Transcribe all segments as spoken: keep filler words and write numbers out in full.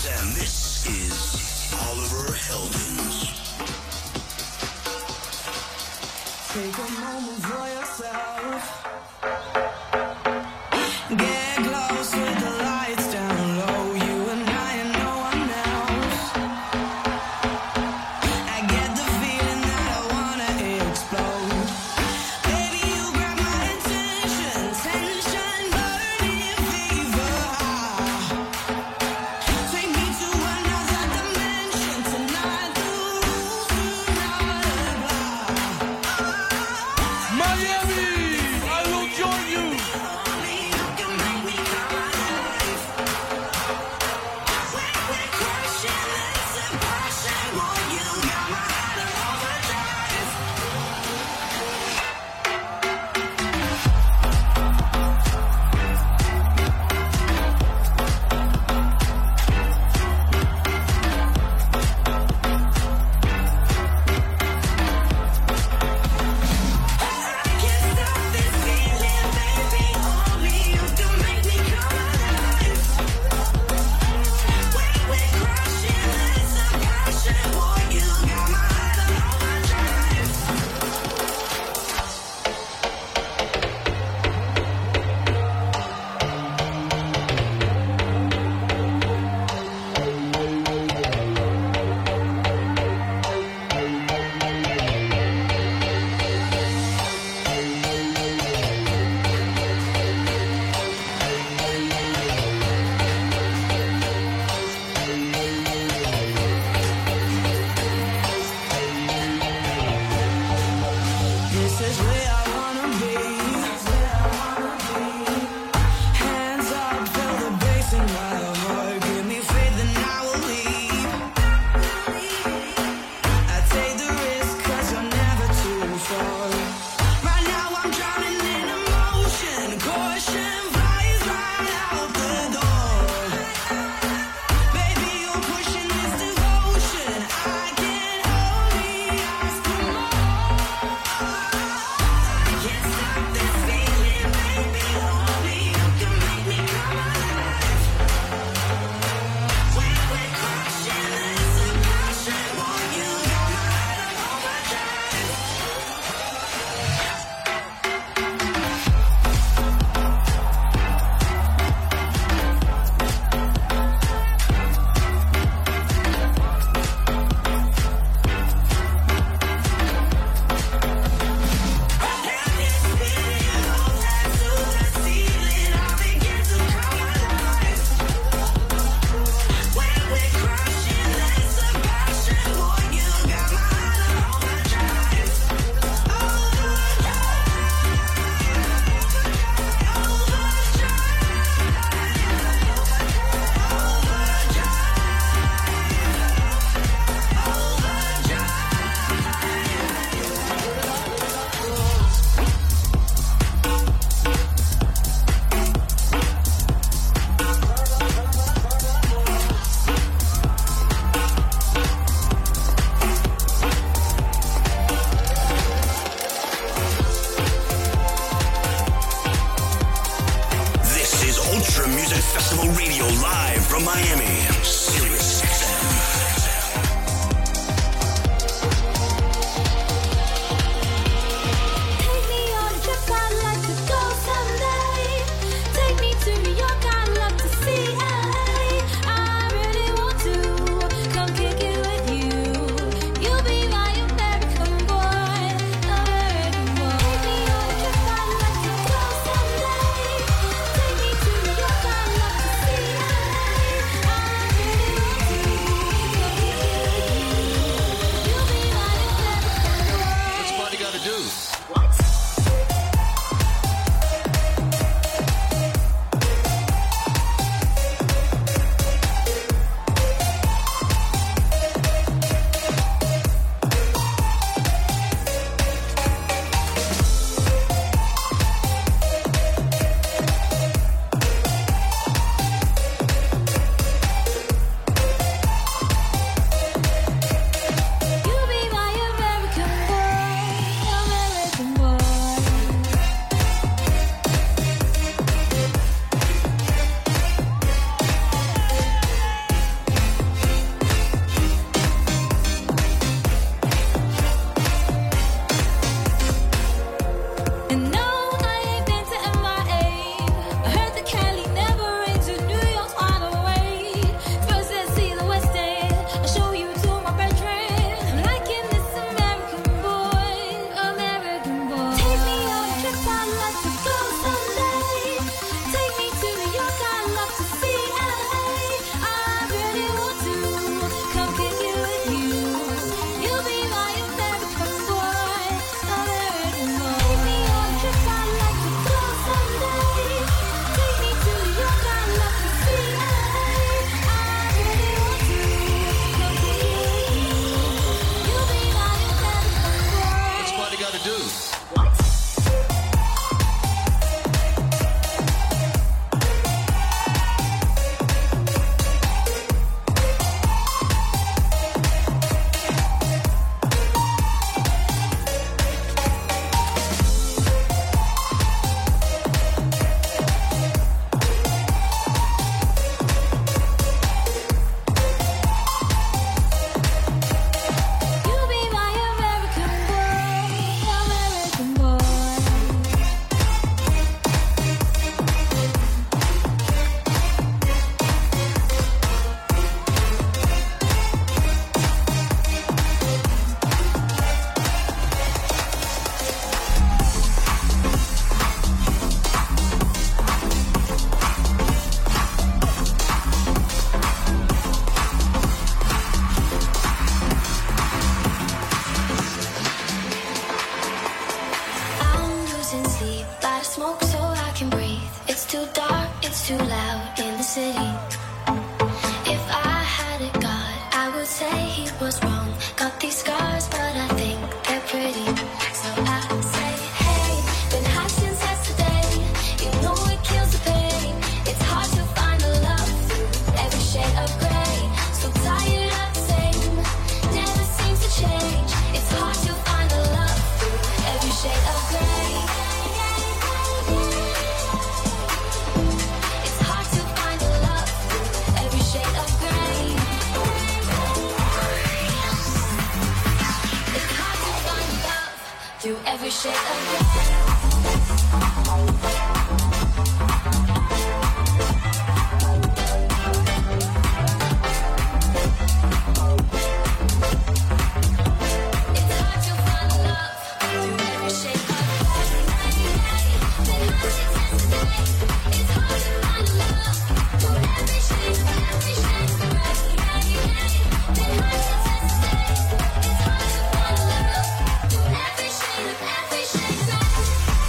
And this is Oliver Heldens. Take a moment for yourself. Get close with the lights down low. You and I and no one else. I get the feeling that I wanna explode. Baby, you grab my attention. Tension burning fever high. Take me to another dimension. Tonight the rules do not apply. Miami, I will join you. This is where I wanna be. Hands up, feel the bass in my heart. Give me faith and I will leave. I take the risk cause you're never too far. Right now I'm drowning in emotion. Caution flies right out the door. Baby, you're pushing this devotion. I can't only ask for more. Can't stop this feeling, baby. Only you can make me come alive. When we're crashing, there's a passion for you. Got my head on overdrive. Can you feel that to the ceiling? I begin to come alive. When we're crashing, there's a passion for you. Got my head on overdrive. This is Ultra Music Festival Radio live from Miami. Sirius X M. Take me on a trip, I'd like to go someday. Take me to New York, I'd love to see L A. I really want to come kick it with you. You'll be my American boy, American boy. Take me on a trip, I'd like to go someday. Take me to New York, I'd love to see L A. I really want shade of every shade of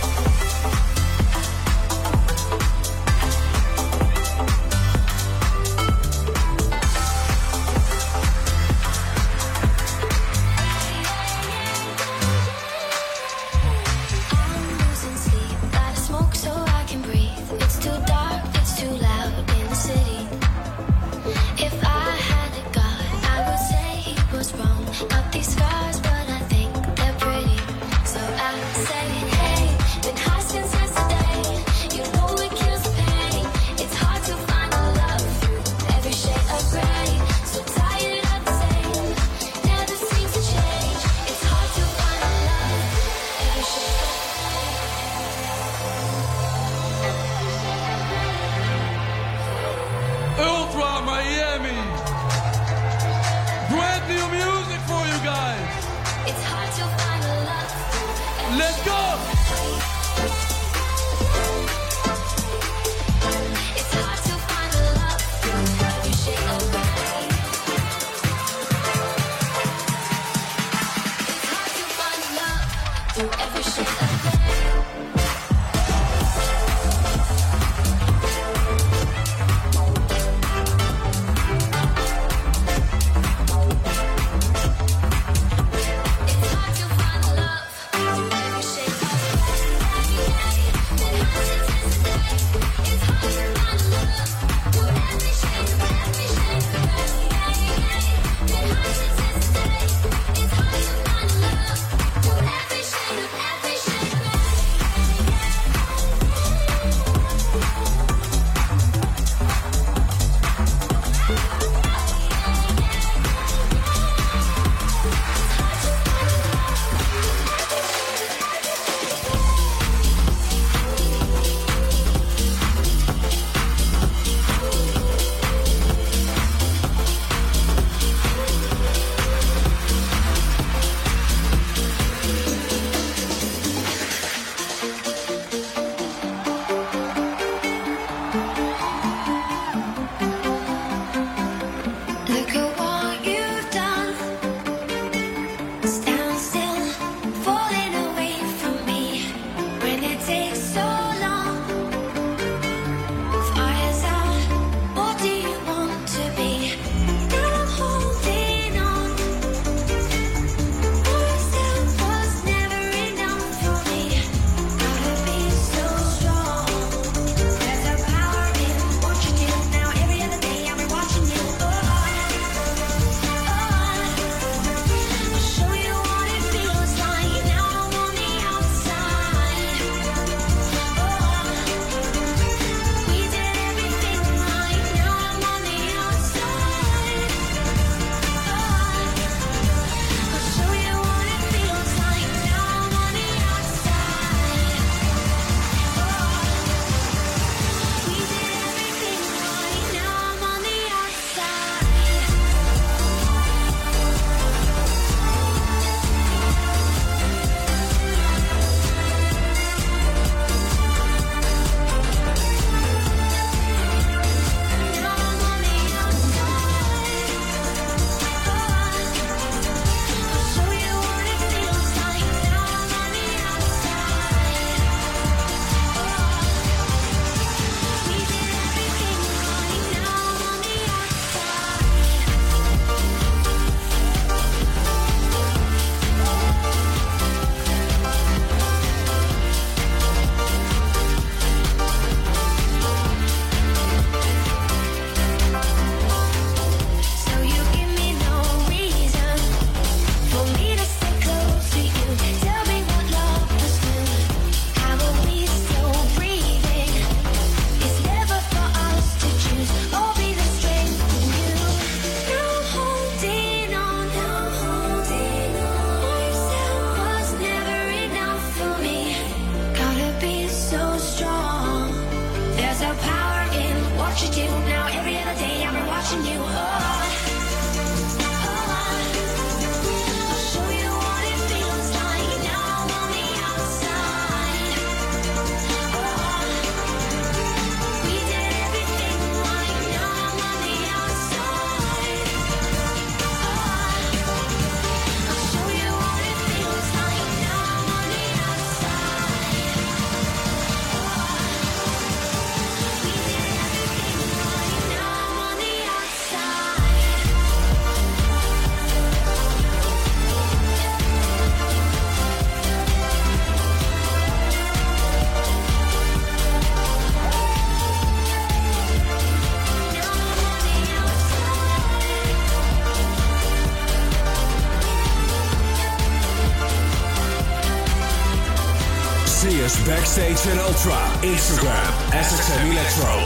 Search Backstage and Ultra, Instagram, S X M Electro.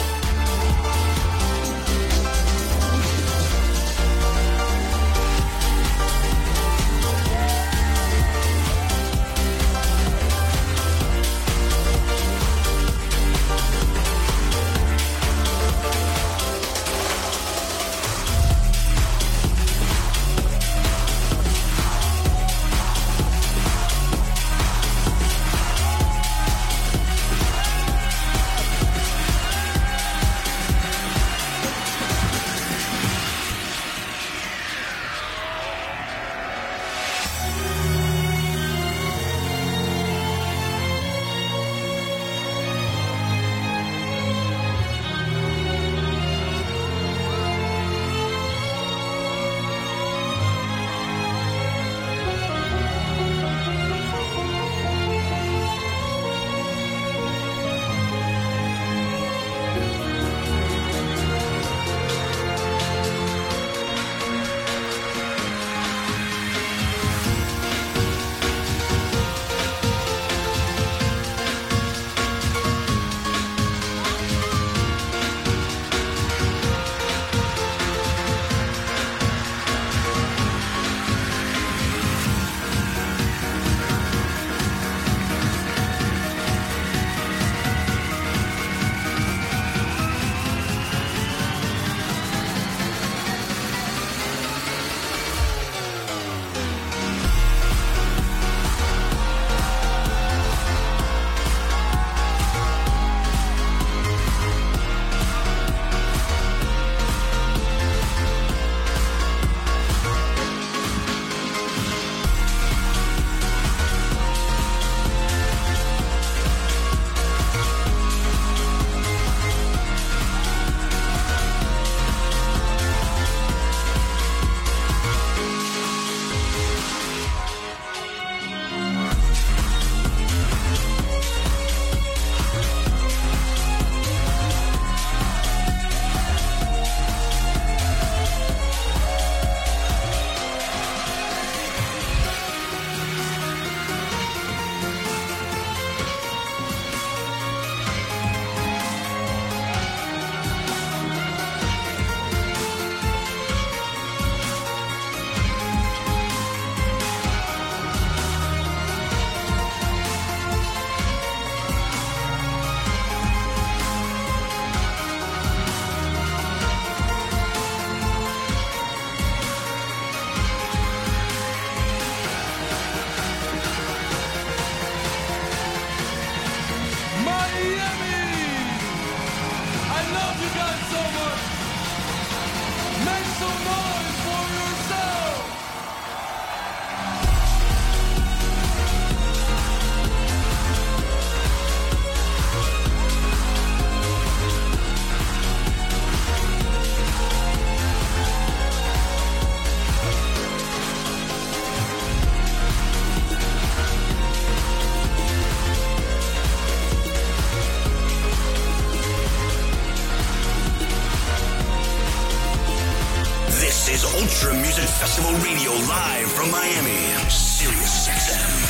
Ultra Music Festival Radio live from Miami, Sirius X M.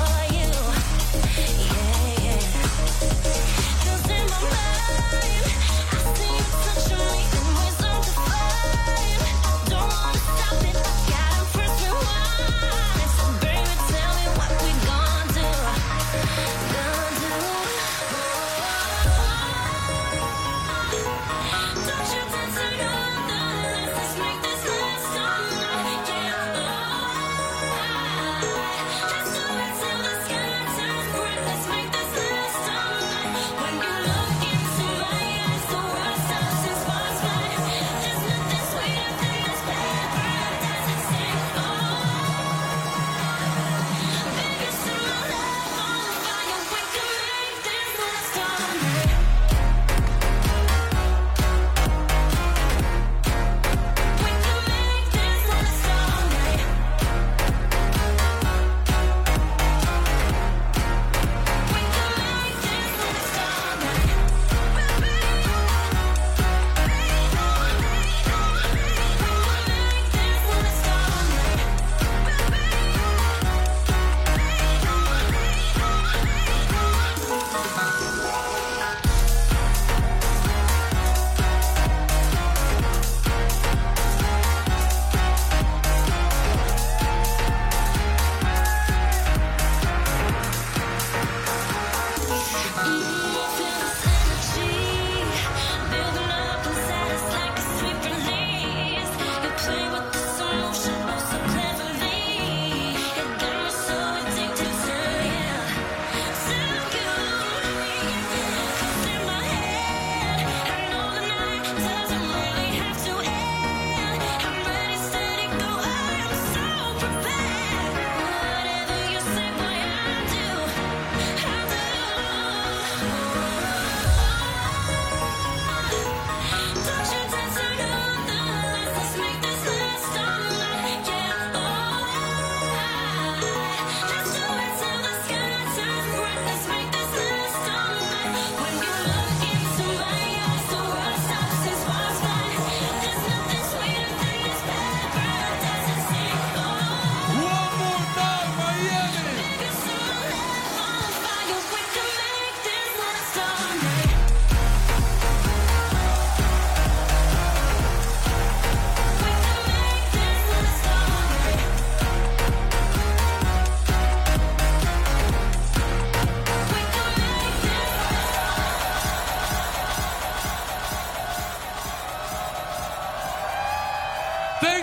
Cause in my mind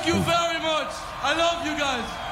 Thank you very much. I love you guys.